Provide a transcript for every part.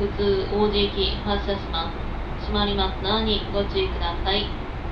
普通王子行き発車します。閉まりますのにご注意ください。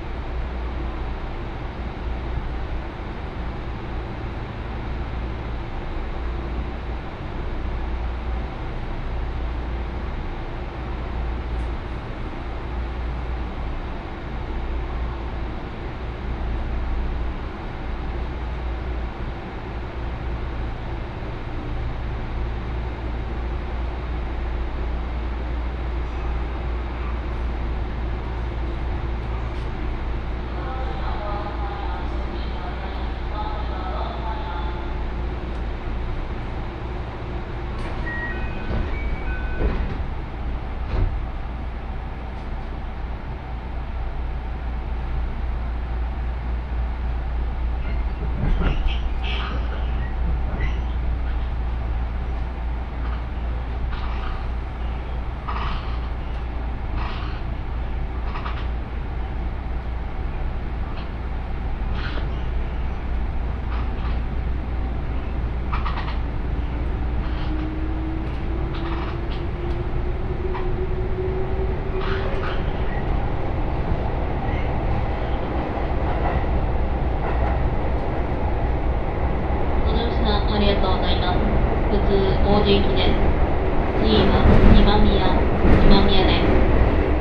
王子行きです。次は今宮です。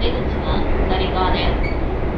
出口は左側です。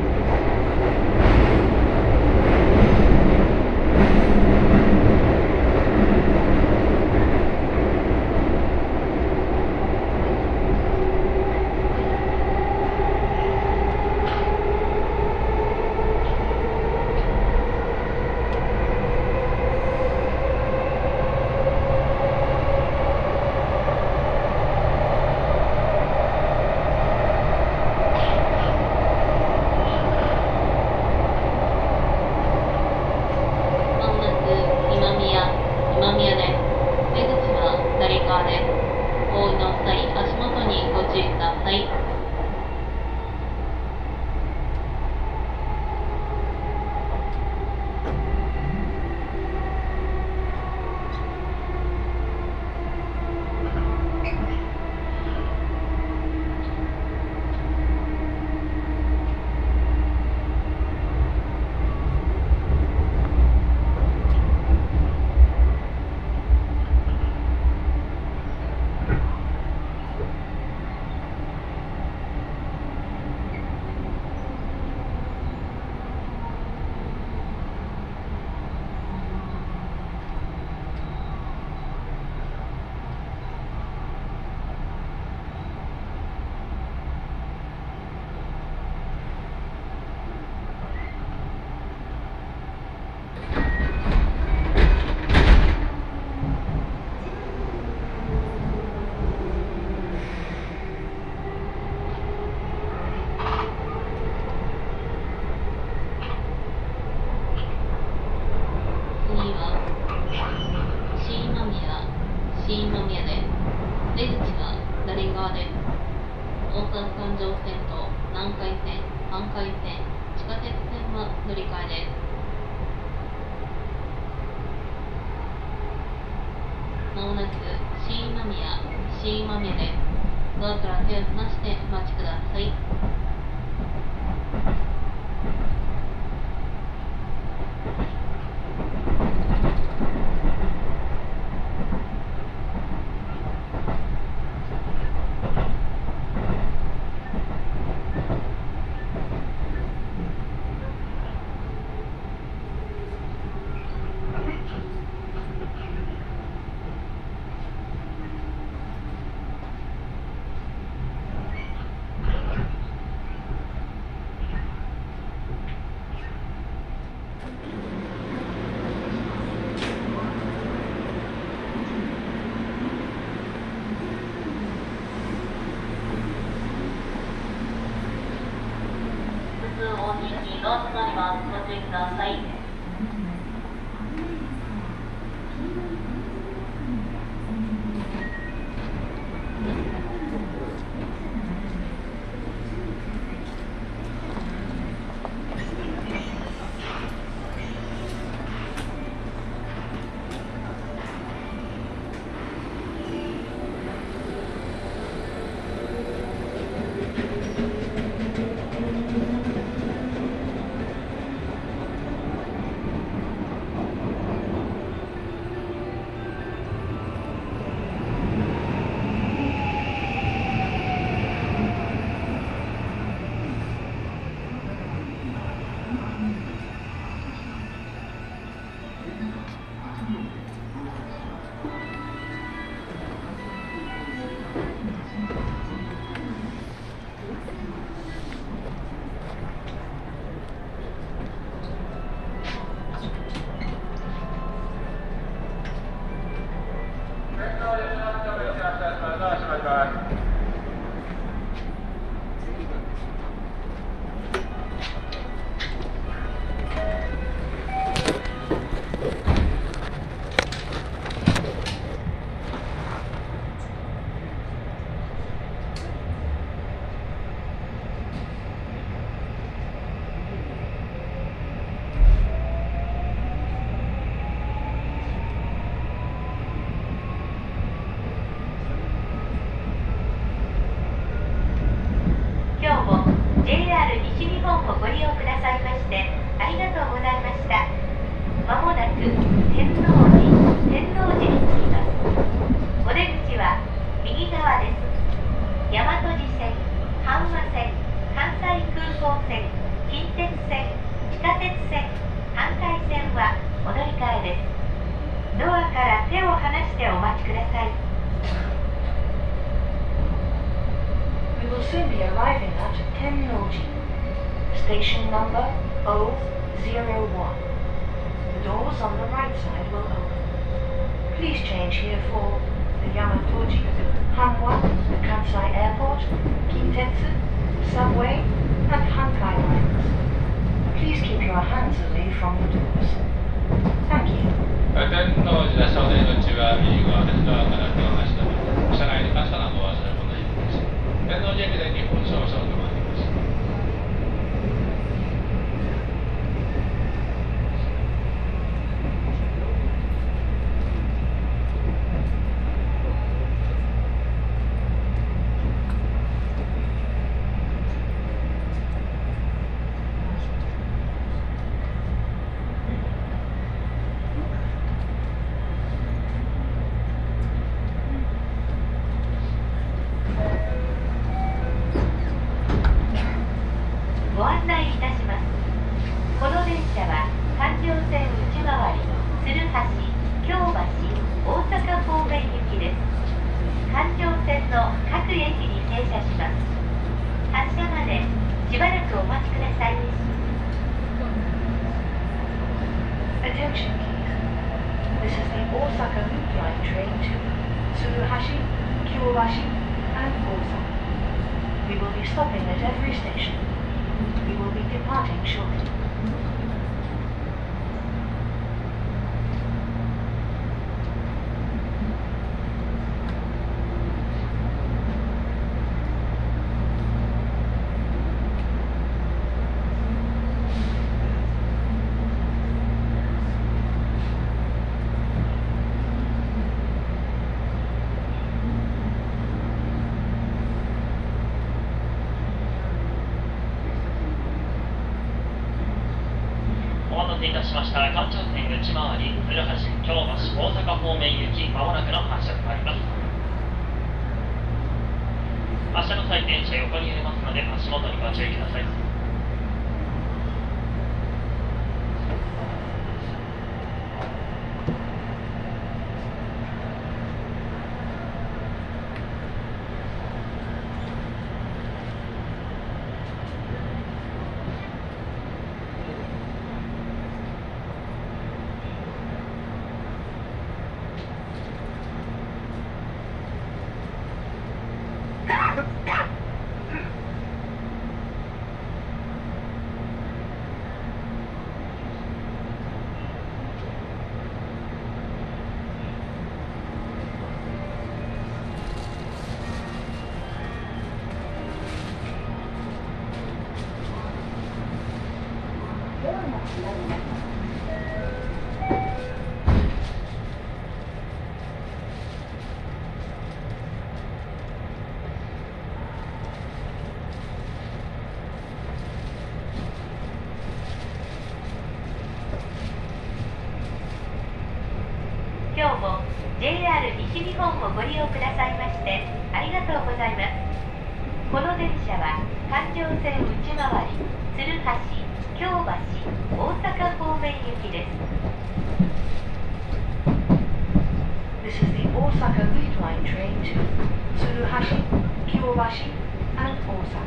新今宮です。出口は左側です。大阪環状線と南海線、阪海線、地下鉄線は乗り換えです。まもなく新今宮です。ドアから手を離してお待ちください。おにぎりが閉まります。ご注意ください。 天王寺に着きます。お出口は右側です。大和路線、阪和線、関西空港線、近鉄線、地下鉄線、阪海線はお乗り換えです。ドアから手を離してお待ちください。 We will soon be arriving at Tennoji. Station number O01. The doors on the right side will open. Please change here for the Yamatoji, Hanwha, the Kansai Airport, Kintetsu, Subway, and Hankai lines. Please keep your hands away from the doors. Thank you. 天王寺少年口は右側です。ドアから手を離して車内に関したらお忘れ物です。天王寺駅で日本少々と参ります。 ご案内いたします。この電車は環状線内回り、鶴橋、京橋、大阪方面行きです。環状線の各駅に停車します。発車までしばらくお待ちください。 Attention please. This is the Osaka Loop Line train to Tsuruhashi, Kyobashi, and Osaka. We will be stopping at every station. We will be departing shortly. お待たせいたしました。環状線内回り、鶴橋、京橋、大阪方面行き、まもなくの発車となります。発車の際、電車横に揺れますので、足元にご注意ください。 今日も JR 西日本をご利用くださいましてありがとうございます。この電車は環状線内回り、鶴橋、京橋、大阪方面行きです。 This is the Osaka Loop Line train to Tsuruhashi, Kyobashi, and Osaka.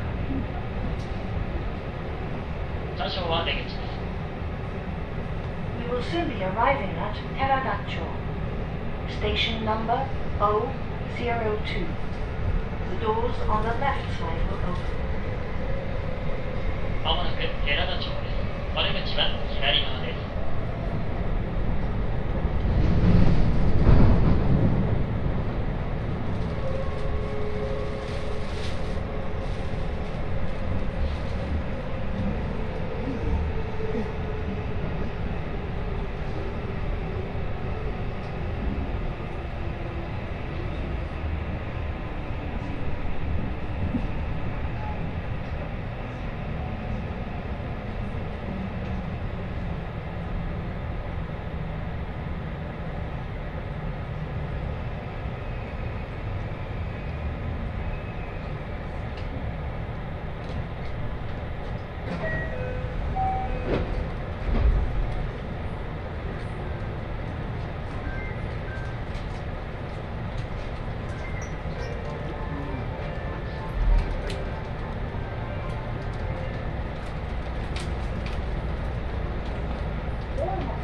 車掌は出口です。 We will soon be arriving at Teragacho. Station number O02. The doors on the left side will open. まもなく寺田町です。お出口は左側です。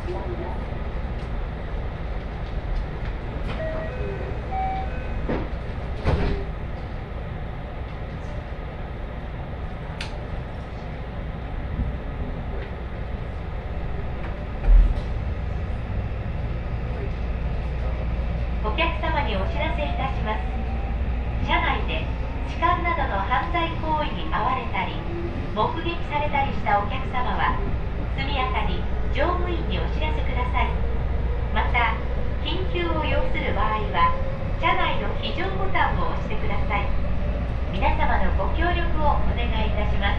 お客様にお知らせいたします。車内で痴漢などの犯罪行為に遭われたり目撃されたりしたお客様は速やかに乗務員にお知らせください。また緊急を要する場合は車内の非常ボタンを押してください。皆様のご協力をお願いいたします。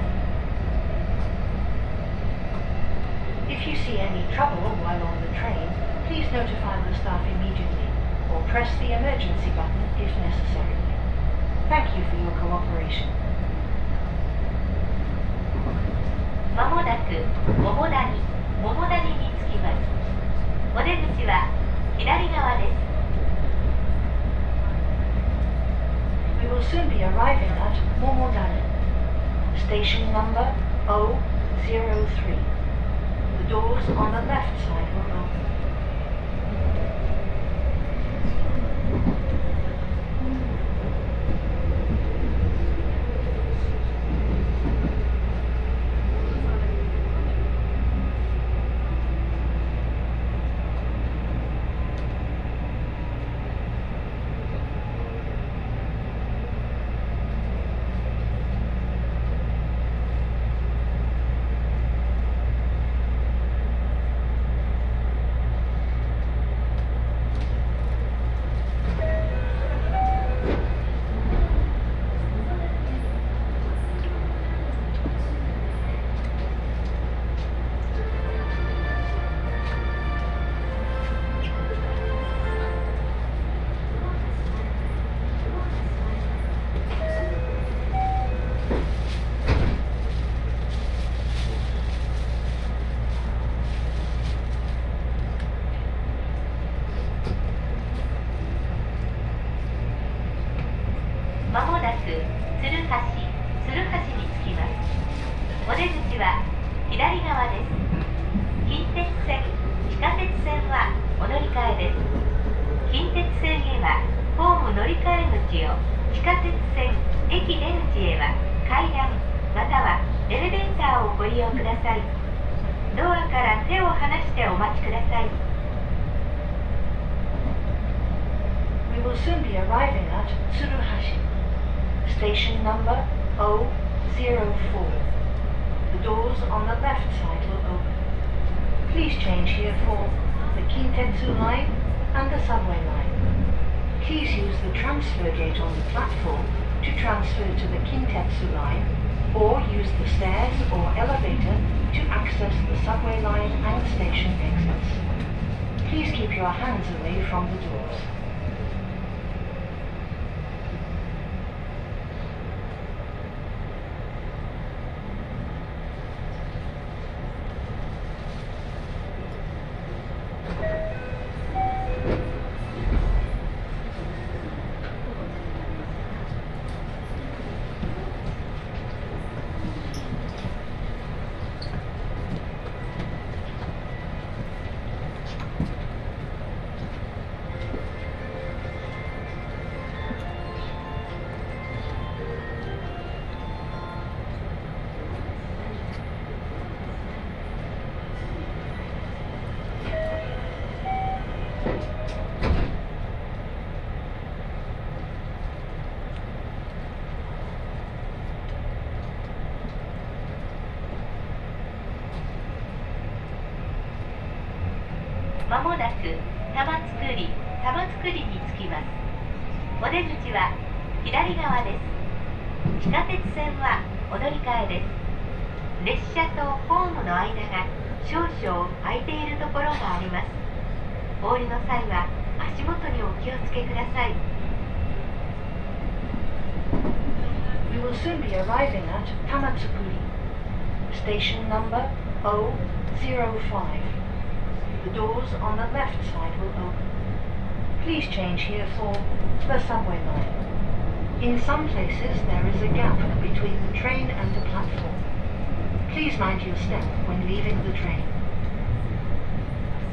If you see any trouble while on the train, please notify the staff immediately or press the emergency button if necessary. Thank you for your cooperation. まもなく桃谷に着きます。お出口は左側です。 We will soon be arriving at Momodani, station number 003. The doors on the left side will open. We will soon be arriving at Tsuruhashi, station number 004. The doors on the left side will open. Please change here for the Kintetsu line and the subway line. Please use the transfer gate on the platform to transfer to the Kintetsu line, or use the stairs or elevator to access the subway line and station exits. Please keep your hands away from the doors. まもなく玉造に着きます。お出口は左側です。地下鉄線はお乗り換えです。列車とホームの間が少々空いているところがあります。お降りの際は足元にお気をつけください。 We will soon be arriving at Tamatsukuri, station number 005. The doors on the left side will open. Please change here for the subway line. In some places there is a gap between the train and the platform. Please mind your step when leaving the train.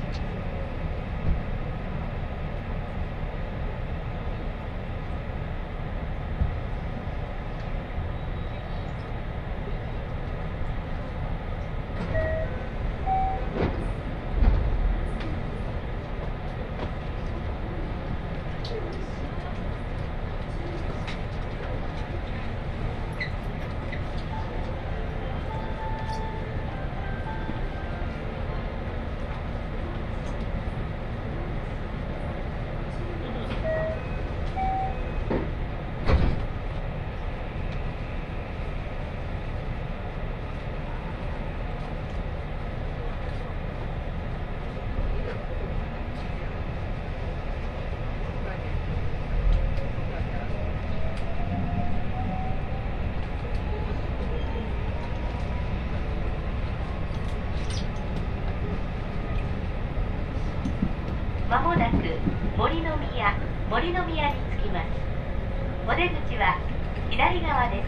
まもなく森の宮に着きます。お出口は左側です。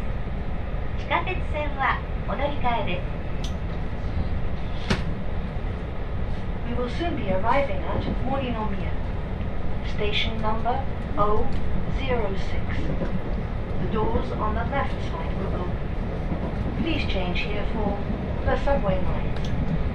地下鉄線はお乗り換えです。 We will soon be arriving at Morinomiya. Station number 006. The doors on the left side will open. Please change here for the subway lines.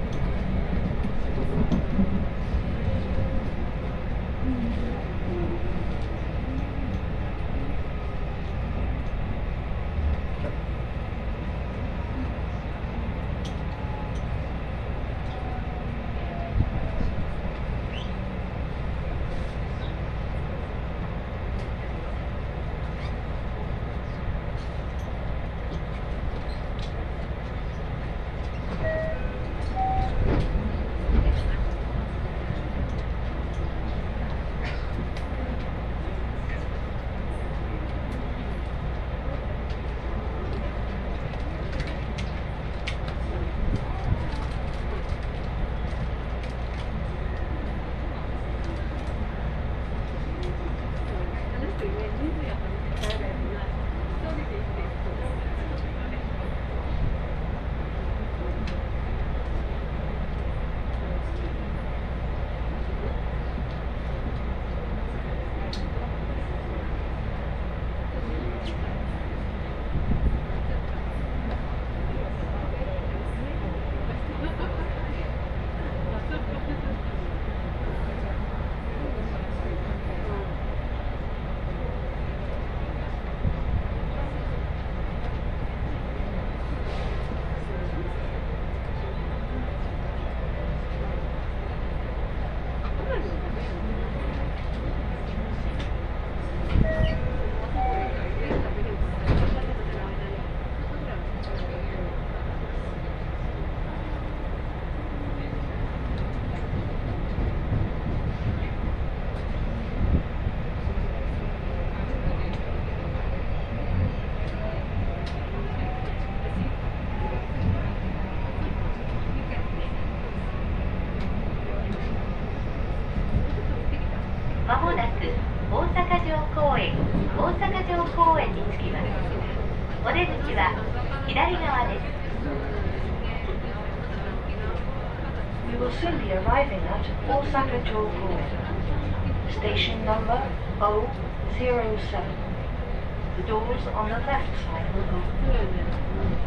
We will soon be arriving at Osaka-jo Koen. Station number 007. The doors on the left side will open.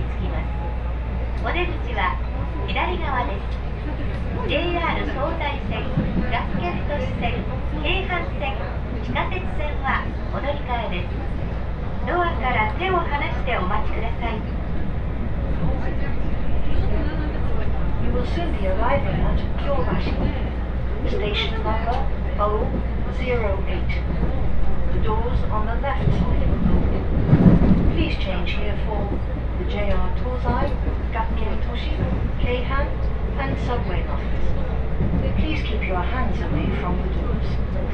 着きます。お出口は左側です。JR 東西線、学研都市線、京阪線、地下鉄線はお乗り換えです。ドアから手を離してお待ちください。 You will soon be arriving at Kyobashi. Station number 008. The doors on the left side will open. Please change here for the JR Tozai, Gakken Toshi, Keihan, and subway lines. Please keep your hands away from the doors.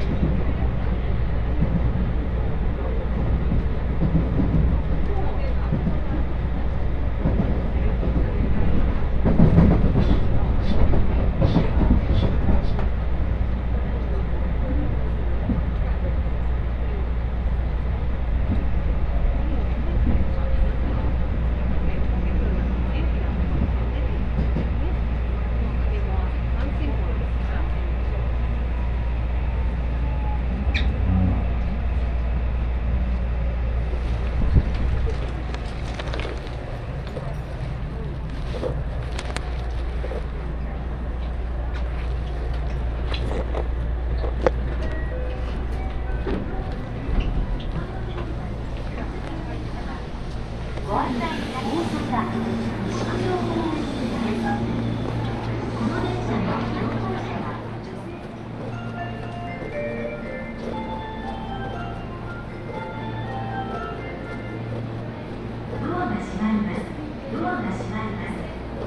ご案内いたします。大阪西九条方面です。この電車の乗降者はドアが閉まります。ドアが閉まります。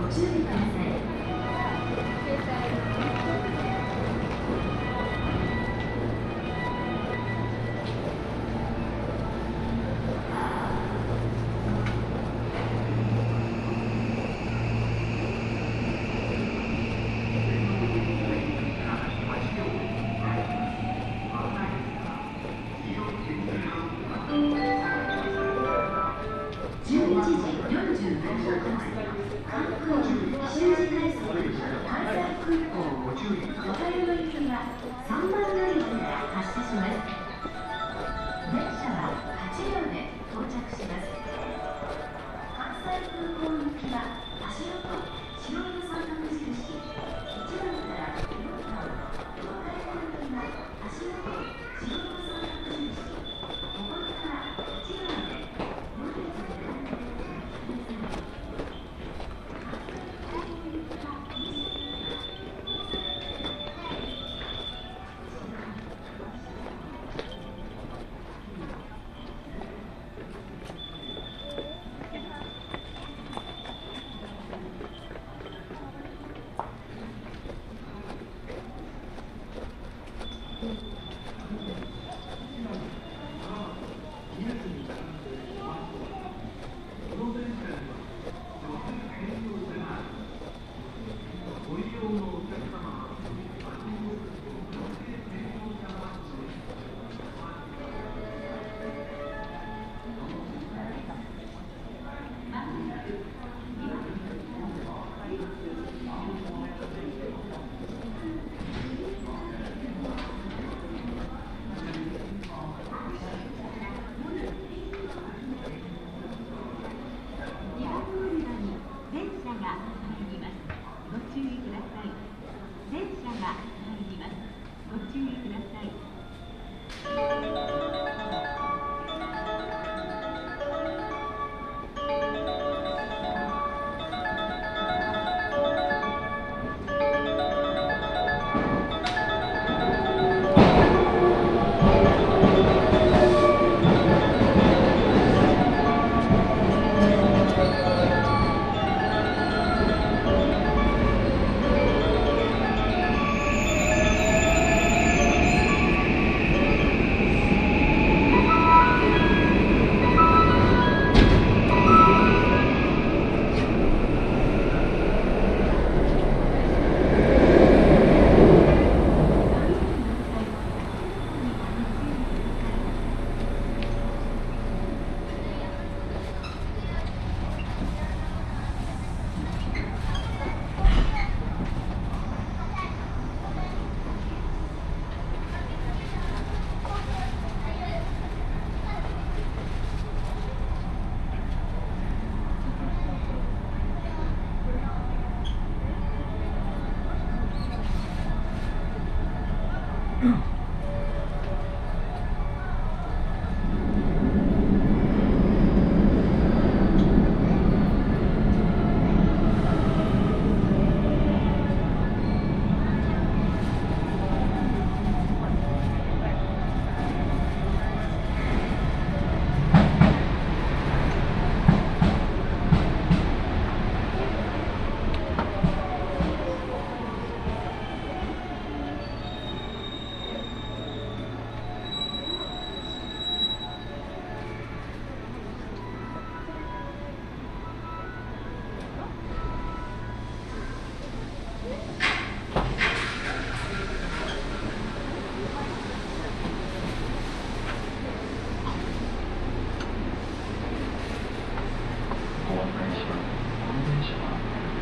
ご注意ください。11時47分発、関空修士快速関西空港小樽の行きは3番乗り場から発車します。電車は8両で到着します。関西空港行きは足元白い三角印1番から4番、小樽行きは足元白い三角印ここから1番で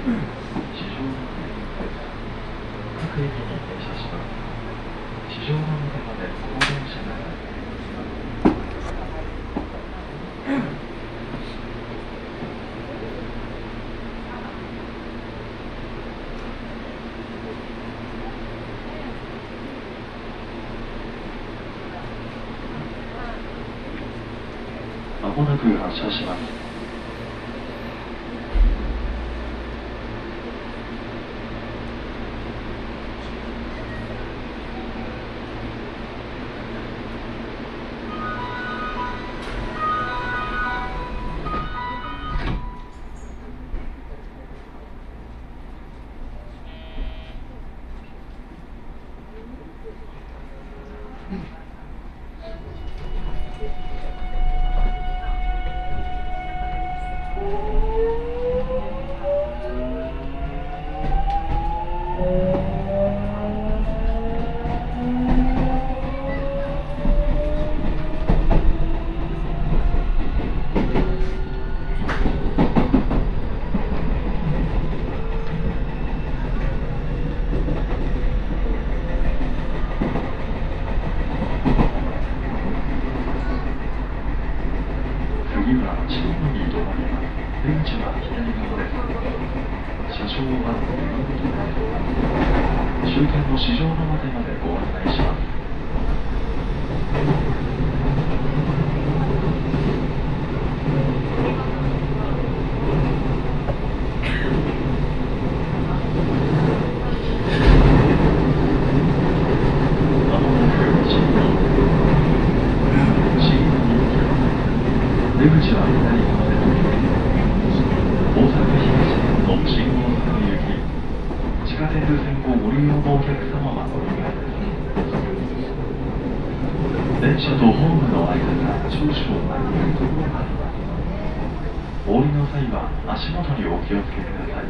各駅に停車します。地上の上まで高電車が参ります。まもなく発車します。次は千代野に止まります。出口は左側です。車掌は終点の四条畷までご案内します。まもなく新入出口は左側です。大阪東線の新大阪行き、地下鉄線をご利用のお客様はお願いです。電車とホームの間が少々空いているところがあります。お降りの際は足元にお気をつけください。